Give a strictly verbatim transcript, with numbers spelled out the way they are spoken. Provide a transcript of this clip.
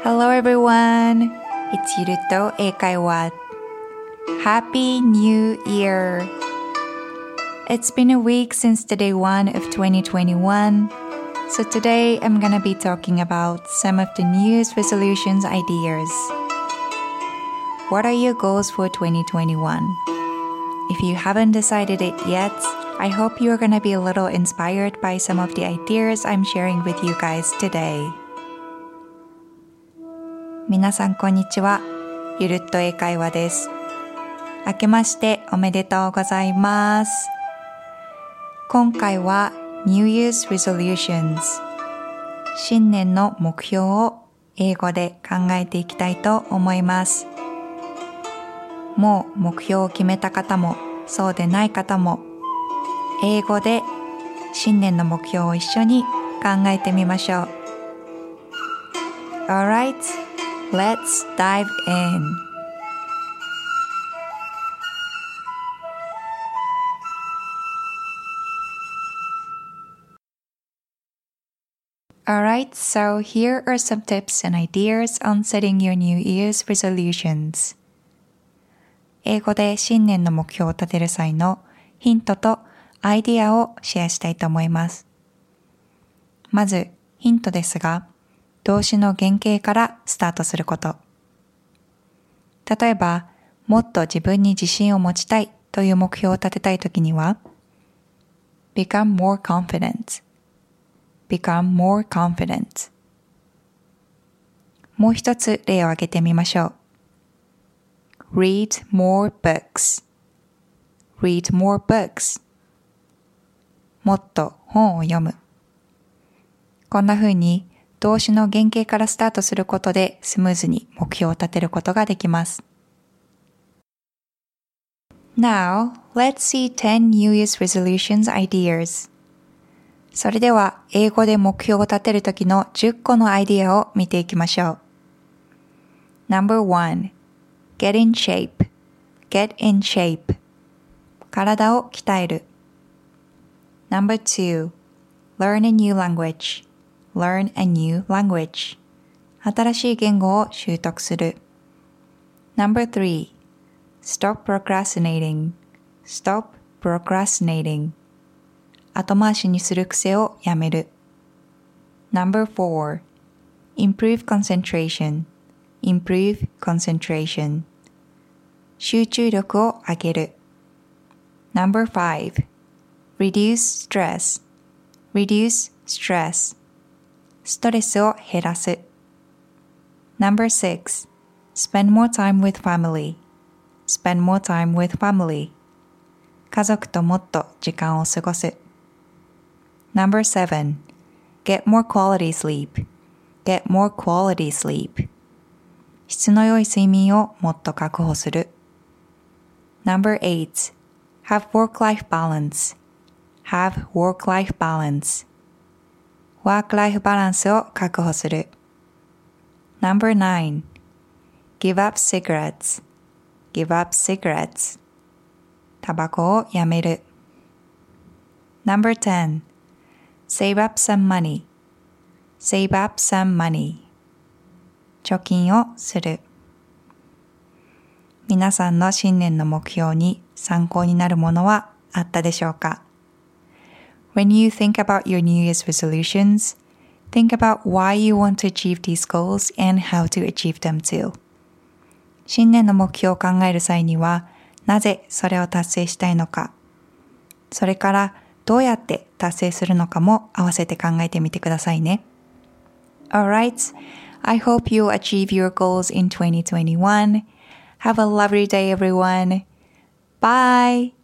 Hello everyone! It's ゆると英会話 Happy New Year! It's been a week since the day one of twenty twenty-one, so today I'm gonna be talking about some of the New Year's resolutions ideas. What are your goals for twenty twenty-one? If you haven't decided it yet, I hope you're gonna be a little inspired by some of the ideas I'm sharing with you guys today. 皆さんこんにちは。ゆるっと英会話です。明けましておめでとうございます。今回は New Year's Resolutions 新年の目標を英語で考えていきたいと思います。もう目標を決めた方もそうでない方も英語で新年の目標を一緒に考えてみましょう。Alright, let's dive in. Alright, so here are some tips and ideas on setting your New Year's resolutions. 英語で新年の目標を立てる際のヒントとアイディアをシェアしたいと思います。まず、ヒントですが、動詞の原型からスタートすること。例えば、もっと自分に自信を持ちたいという目標を立てたいときには、become more confident, become more confident。もう一つ例を挙げてみましょう。read more books, read more books。もっと本を読む。こんな風に動詞の原型からスタートすることでスムーズに目標を立てることができます。Now, let's see ten New Year's Resolutions ideas. それでは英語で目標を立てるときのじゅっこのアイディアを見ていきましょう。Number one, get in shape, get in shape. 体を鍛える。Number two, learn a new language, learn a new language. 新しい言語を習得する。Number three, stop procrastinating, stop procrastinating. 後回しにする癖をやめる。Number four, improve concentration, improve concentration. 集中力を上げる。Number five, reduce stress, reduce stress. ストレスを減らす。Number six, spend more time with family, spend more time with family. 家族ともっと時間を過ごす。Number seven, get more quality sleep, get more quality sleep. 質の良い睡眠をもっと確保する。Number eight, have work-life balance, have work-life balance. ワークライフバランスを確保する。Number nine, give up cigarettes, give up cigarettes. タバコをやめる。Number ten, save up some money, save up some money. 貯金をする。皆さんの新年の目標に参考になるものはあったでしょうか？ When you think about your New Year's resolutions, think about why you want to achieve these goals and how to achieve them too. 新年の目標を考える際には、なぜそれを達成したいのか、それからどうやって達成するのかも合わせて考えてみてくださいね。Alright, I hope you'll achieve your goals in twenty twenty-one. Have a lovely day, everyone. Bye!